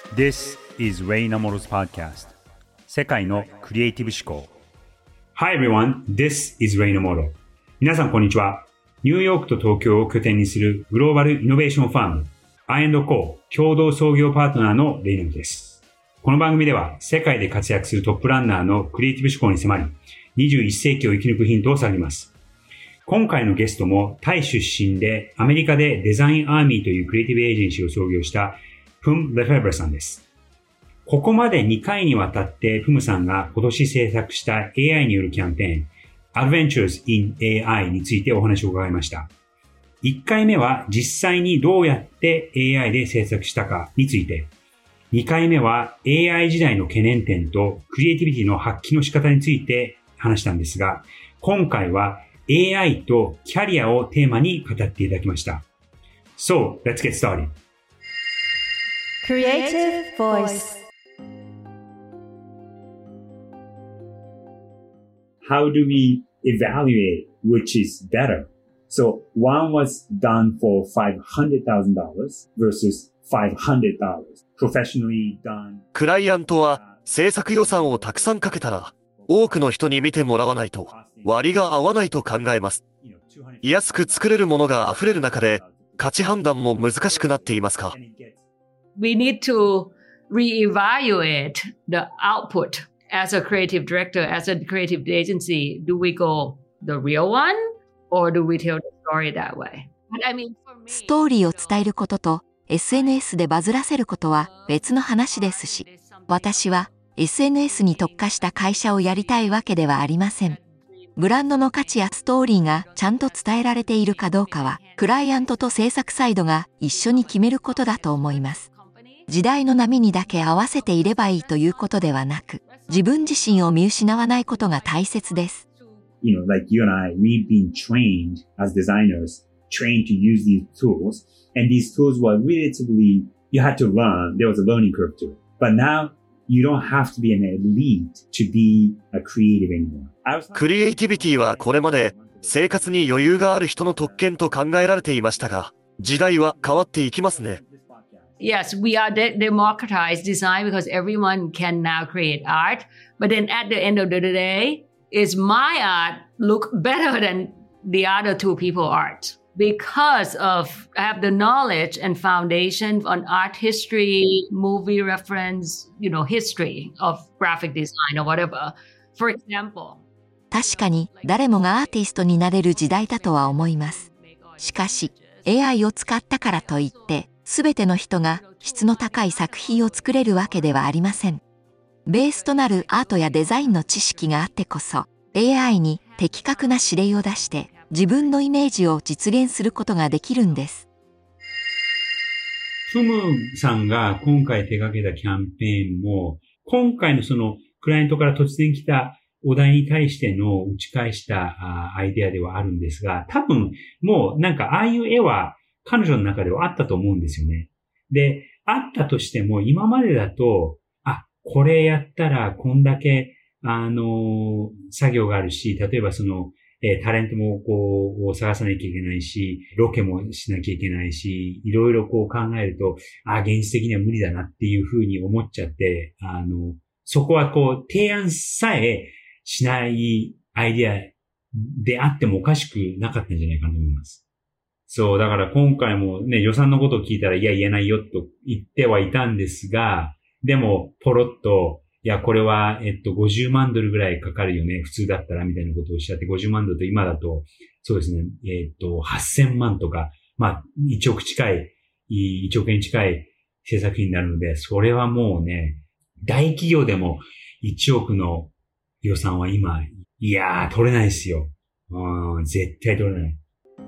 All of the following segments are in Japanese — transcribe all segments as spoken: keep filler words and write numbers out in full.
This is Ray Namoro's podcast. 世界のクリエイティブ思考。Hi everyone, this is Ray Namoro. 皆さんこんにちは。ニューヨークと東京を拠点にするグローバルイノベーションファーム アイアンドコー 共同創業パートナーのレイナムです。この番組では世界で活躍するトップランナーのクリエイティブ思考に迫り、にじゅういっ世紀を生き抜くヒントを探ります。今回のゲストもタイ出身でアメリカでデザインアーミーというクリエイティブエージェンシーを創業したプム・レフェブラさんです。ここまでにかいにわたってプムさんが今年制作した エーアイ によるキャンペーン Adventures in エーアイ についてお話を伺いました。いっかいめは実際にどうやって エーアイ で制作したかについて、にかいめは エーアイ 時代の懸念点とクリエイティビティの発揮の仕方について話したんですが、今回は エーアイ とキャリアをテーマに語っていただきました。So, let's get started. Creative Voice. How do we evaluate which is better? So one was done for five hundred thousand dollars versus five hundred dollars. Professionally done. クライアントは制作予算をたくさんかけたら、多くの人に見てもらわないと割が合わないと考えます。安く作れるものが溢れる中で価値判断も難しくなっていますか？ We need to reevaluate the output as a creative director, as a creative agency. Do we go the real one or do we tell the story that way? But I mean, for me, ストーリーを伝えることと エスエヌエス でバズらせることは別の話ですし、私は エスエヌエス に特化した会社をやりたいわけではありません。ブランドの価値やストーリーがちゃんと伝えられているかどうかは、クライアントと制作サイドが一緒に決めることだと思います。時代の波にだけ合わせていればいいということではなく、自分自身を見失わないことが大切です。 You know, like you and I, we've been trained as designers, trained to use these tools, and these tools were relatively, you had to learn, there was a learning curve to it. But now, you don't have to be an elite to be a creative anymore. クリエイティビティはこれまで生活に余裕がある人の特権と考えられていましたが、時代は変わっていきますね。 yes, we are de- democratized design because everyone can now create art. But then at the end of the day, is my art look better than the other two people's art? Because of I have the knowledge and foundation on art history, movie reference, you know, history of graphic design or whatever. For example. 確かに誰もがアーティストになれる時代だとは思います。しかし、エーアイ を使ったからといって、すべての人が質の高い作品を作れるわけではありません。ベースとなるアートやデザインの知識があってこそ、エーアイ に的確な指令を出して、自分のイメージを実現することができるんです。 プムさんが今回手掛けたキャンペーンも、今回のそのクライアントから突然来たお題に対しての打ち返したアイデアではあるんですが、多分もうなんかああいう絵は彼女の中ではあったと思うんですよね。で、あったとしても今までだと、あ、これやったらこんだけあの作業があるし、例えばそのえー、タレントもこう、探さなきゃいけないし、ロケもしなきゃいけないし、いろいろこう考えると、あ、現実的には無理だなっていうふうに思っちゃって、あの、そこはこう、提案さえしないアイディアであってもおかしくなかったんじゃないかなと思います。そう、だから今回もね、予算のことを聞いたら、いや、言えないよと言ってはいたんですが、でも、ポロッと、いや、これは、えっと、ごじゅうまんドルぐらいかかるよね。普通だったら、みたいなことをおっしゃって、ごじゅうまんドルと今だと、そうですね、えっと、はっせんまんとか、まあ、いちおく近い、いちおくえん近い制作費になるので、それはもうね、大企業でもいちおくの予算は今、いやー、取れないですよ。うん、絶対取れない。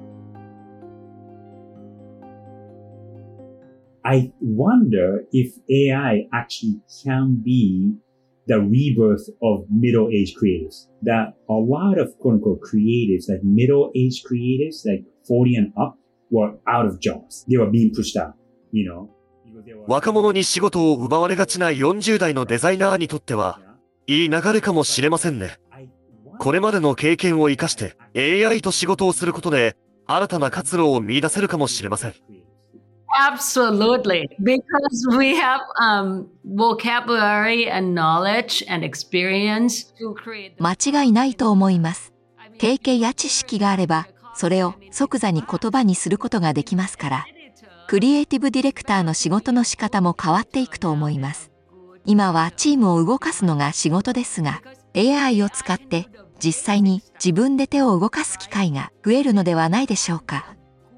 I wonder if A I actually can be the rebirth of middle-aged creatives. That a lot of quote-unquote creatives, like middle-aged creatives, like forty and up, were out of jobs. They were being pushed out, you know. 若者に仕事を奪われがちなよんじゅう代のデザイナーにとっては、いい流れかもしれませんね。これまでの経験を生かして エーアイ と仕事をすることで、新たな活路を見出せるかもしれません。 Absolutely. Because we have um, vocabulary and knowledge and experience to create. 間違いないと思います。経験や知識があれば、それを即座に言葉にすることができますから、クリエイティブディレクターの仕事の仕方も変わっていくと思います。今はチームを動かすのが仕事ですが、エーアイ を使って実際に自分で手を動かす機会が増えるのではないでしょうか。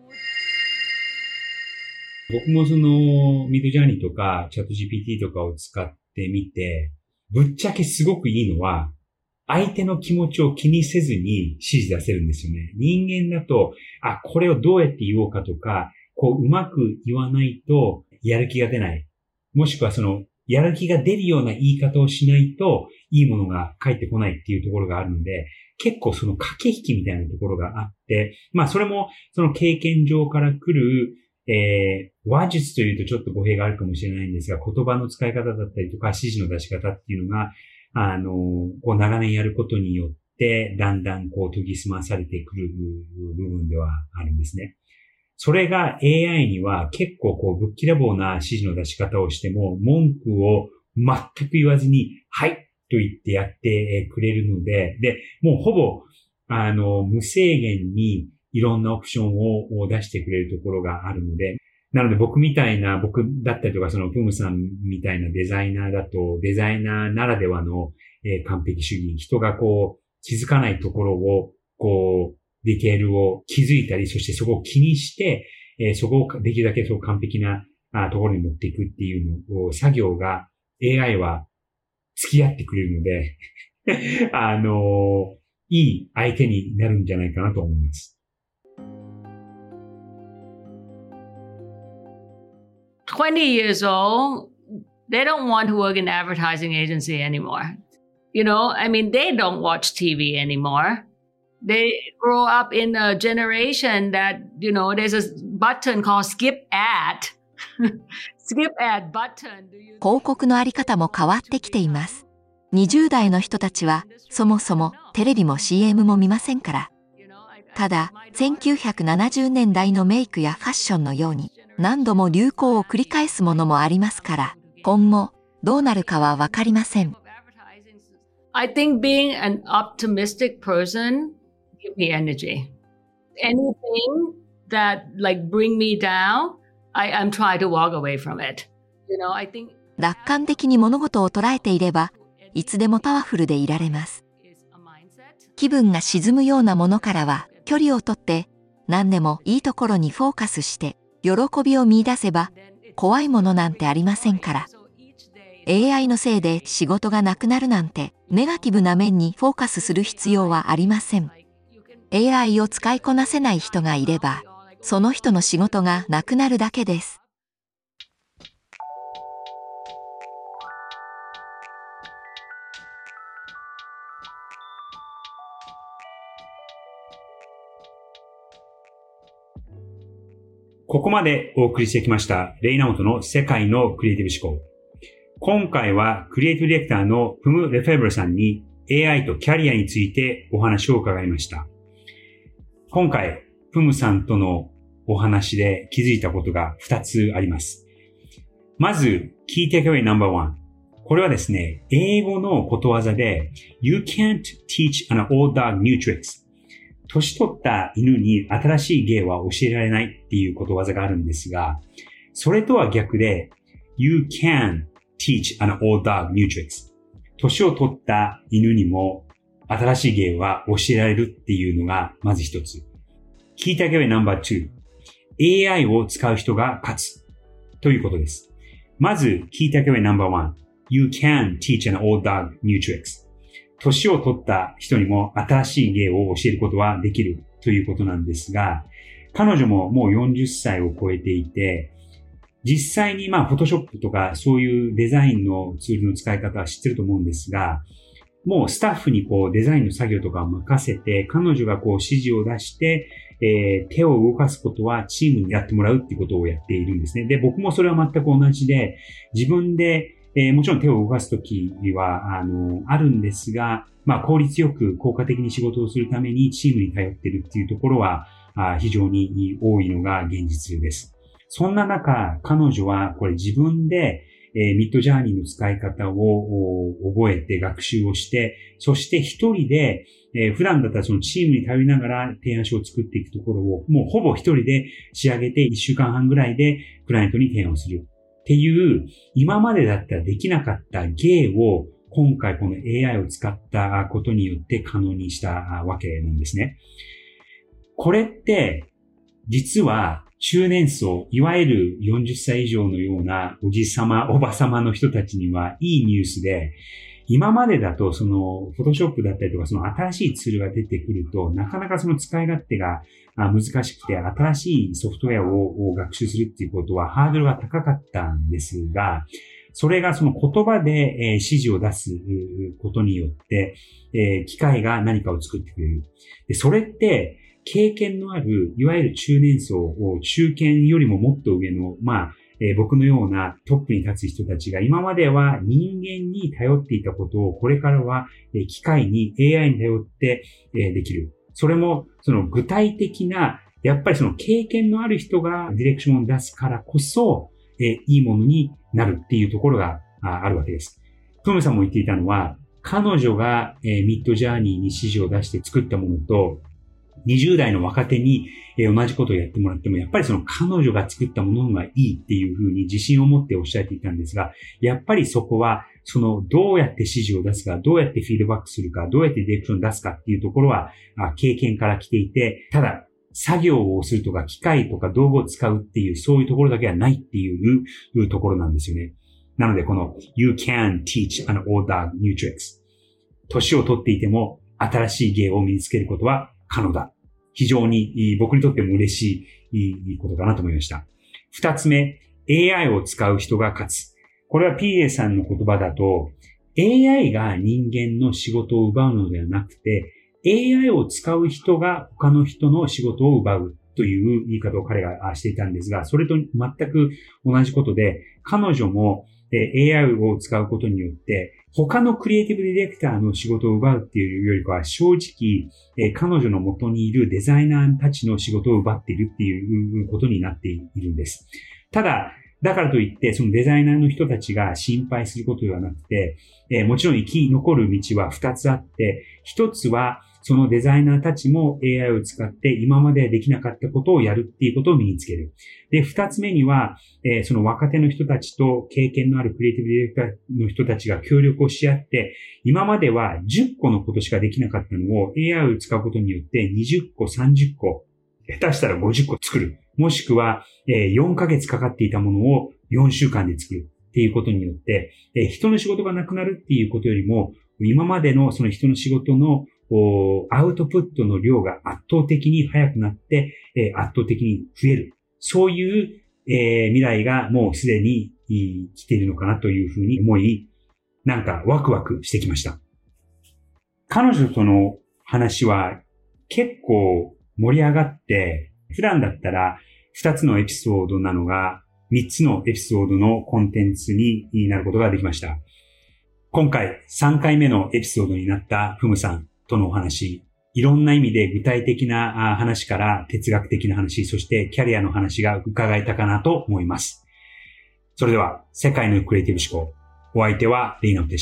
僕もそのミッドジャーニーとかチャット ジーピーティー とかを使ってみて、ぶっちゃけすごくいいのは、相手の気持ちを気にせずに指示出せるんですよね。人間だと、あ、これをどうやって言おうかとか、こううまく言わないとやる気が出ない。もしくはその、やる気が出るような言い方をしないと、いいものが返ってこないっていうところがあるので、結構その駆け引きみたいなところがあって、まあそれもその経験上から来る、えー、話術というとちょっと語弊があるかもしれないんですが、言葉の使い方だったりとか指示の出し方っていうのが、あの、こう長年やることによって、だんだんこう研ぎ澄まされてくる部分ではあるんですね。それが エーアイ には結構こうぶっきらぼうな指示の出し方をしても、文句を全く言わずに、はいと言ってやってくれるので、で、もうほぼ、あの、無制限にいろんなオプションを出してくれるところがあるので、なので僕みたいな、僕だったりとかそのプムさんみたいなデザイナーだと、デザイナーならではの、えー、完璧主義、人がこう気づかないところを、こう、ディテールを気づいたり、そしてそこを気にして、えー、そこをできるだけそう完璧なあところに持っていくっていうのを、作業が エーアイ は付き合ってくれるので、あのー、いい相手になるんじゃないかなと思います。 twenty years old, they don't want to work in advertising agency anymore. You know, I mean, they don't watch T V anymore. They grow up in a generation that, you know, there's a button called skip ad. skip ad button. 広告のあり方も変わってきています。にじゅう代の人たちはそもそもテレビも シーエム も見ませんから。ただ、せんきゅうひゃくななじゅうねんだいのメイクやファッションのように何度も流行を繰り返すものもありますから、今後どうなるかはわかりません。 I think being an optimistic person gives me energy. Anything that like bring me down, I am trying to walk away from it. You know, I think 楽観的に物事を捉えていれば、いつでもパワフルでいられます。気分が沈むようなものからは距離をとって、何でもいいところにフォーカスして、喜びを見出せば、怖いものなんてありませんから。エーアイ のせいで仕事がなくなるなんて、ネガティブな面にフォーカスする必要はありません。エーアイ を使いこなせない人がいれば、その人の仕事がなくなるだけです。 ここまでお送りしてきました、レイナモトの世界のクリエイティブ思考。今回はクリエイティブディレクターのプム・レフェブルさんに エーアイ とキャリアについてお話を伺いました。今回、プムさんとのお話で気づいたことがふたつあります。まず、Key Takeawayナンバーワン。これはですね、英語のことわざで You can't teach an old dog new tricks。年取った犬に新しい芸は教えられないっていうことわざがあるんですが、それとは逆で、You can teach an old dog new tricks。年を取った犬にも新しい芸は教えられるっていうのがまず一つ。Key Takeawayナンバーツー。エーアイ を使う人が勝つということです。まず、Key Takeawayナンバーワン。You can teach an old dog new tricks。年を取った人にも新しい芸を教えることはできるということなんですが、彼女ももうよんじゅっさいを超えていて、実際にまあ、フォトショップとかそういうデザインのツールの使い方は知ってると思うんですが、もうスタッフにこうデザインの作業とかを任せて、彼女がこう指示を出して、えー、手を動かすことはチームにやってもらうっていうことをやっているんですね。で、僕もそれは全く同じで、自分でえー、もちろん手を動かすときは、あの、あるんですが、まあ、効率よく効果的に仕事をするためにチームに頼っているっていうところは、あ非常に多いのが現実です。 そんな中、彼女はこれ自分で、えー、ミッドジャーニーの使い方を覚えて学習をして、そして一人で、えー、普段だったらそのチームに頼りながら提案書を作っていくところを、もうほぼ一人で仕上げていっしゅうかんはんぐらいでクライアントに提案をするっていう、今までだったらできなかった芸を今回この エーアイ を使ったことによって可能にしたわけなんですね。これって、実は中年層、いわゆるよんじゅっさい以上のようなおじさま、おばさまの人たちにはいいニュースで、今までだとそのフォトショップだったりとかその新しいツールが出てくるとなかなかその使い勝手が難しくて新しいソフトウェアを学習するっていうことはハードルが高かったんですが、それがその言葉で指示を出すことによって機械が何かを作ってくれる。で、それって経験のあるいわゆる中年層を中堅よりももっと上のまあえー、僕のようなトップに立つ人たちが今までは人間に頼っていたことをこれからは、えー、機械に エーアイ に頼って、えー、できる。それもその具体的なやっぱりその経験のある人がディレクションを出すからこそ、えー、いいものになるっていうところが あ, あるわけです。プムさんも言っていたのは彼女が、えー、ミッドジャーニーに指示を出して作ったものとにじゅう代の若手に同じことをやってもらっても、やっぱりその彼女が作ったものがいいっていうふうに自信を持っておっしゃっていたんですが、やっぱりそこは、そのどうやって指示を出すか、どうやってフィードバックするか、どうやってディレクションを出すかっていうところは経験から来ていて、ただ作業をするとか機械とか道具を使うっていうそういうところだけはないっていうところなんですよね。なのでこの You can teach an old dog new tricks。年を取っていても新しい芸を身につけることは可能だ。非常に僕にとっても嬉しいことかなと思いました。二つ目、エーアイ を使う人が勝つ。これは ピーエー さんの言葉だと、エーアイ が人間の仕事を奪うのではなくて、エーアイ を使う人が他の人の仕事を奪うという言い方を彼がしていたんですが、それと全く同じことで、彼女もエーアイ を使うことによって、他のクリエイティブディレクターの仕事を奪うっていうよりかは、正直、彼女の元にいるデザイナーたちの仕事を奪っているっていうことになっているんです。ただ、だからといって、そのデザイナーの人たちが心配することではなくて、もちろん生き残る道は二つあって、一つは、そのデザイナーたちも エーアイ を使って今までできなかったことをやるっていうことを身につける。で、二つ目には、えー、その若手の人たちと経験のあるクリエイティブディレクターの人たちが協力をし合って、今まではじゅっこのことしかできなかったのを エーアイ を使うことによってにじゅっこ、さんじゅっこ、下手したらごじゅっこ作る。もしくは、えー、よんかげつかかっていたものをよんしゅうかんで作るっていうことによって、えー、人の仕事がなくなるっていうことよりも、今までのその人の仕事のアウトプットの量が圧倒的に速くなって、えー、圧倒的に増える。そういう、えー、未来がもうすでに来ているのかなというふうに思い、なんかワクワクしてきました。彼女との話は結構盛り上がって、普段だったらふたつのエピソードなのがみっつのエピソードのコンテンツになることができました。今回さんかいめのエピソードになったフムさんとのお話、いろんな意味で具体的な話から哲学的な話、そしてキャリアの話が伺えたかなと思います。それでは、世界のクリエイティブ思考。お相手はレイナウでした。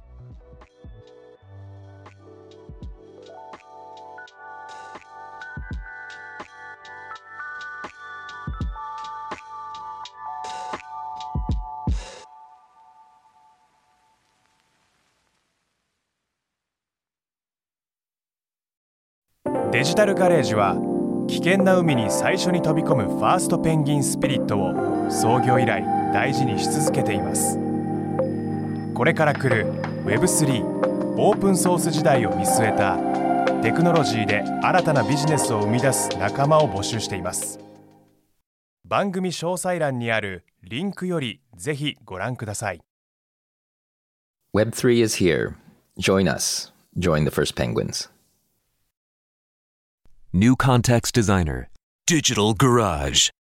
デジタルガレージは危険な海に最初に飛び込むファーストペンギンスピリットを創業以来大事にし続けています。これから来る ウェブスリー オープンソース時代を見据えたテクノロジーで新たなビジネスを生み出す仲間を募集しています。番組詳細欄にあるリンクよりぜひご覧ください。 ウェブスリー is here. Join us. Join the first penguins. New Context Designer, Digital Garage.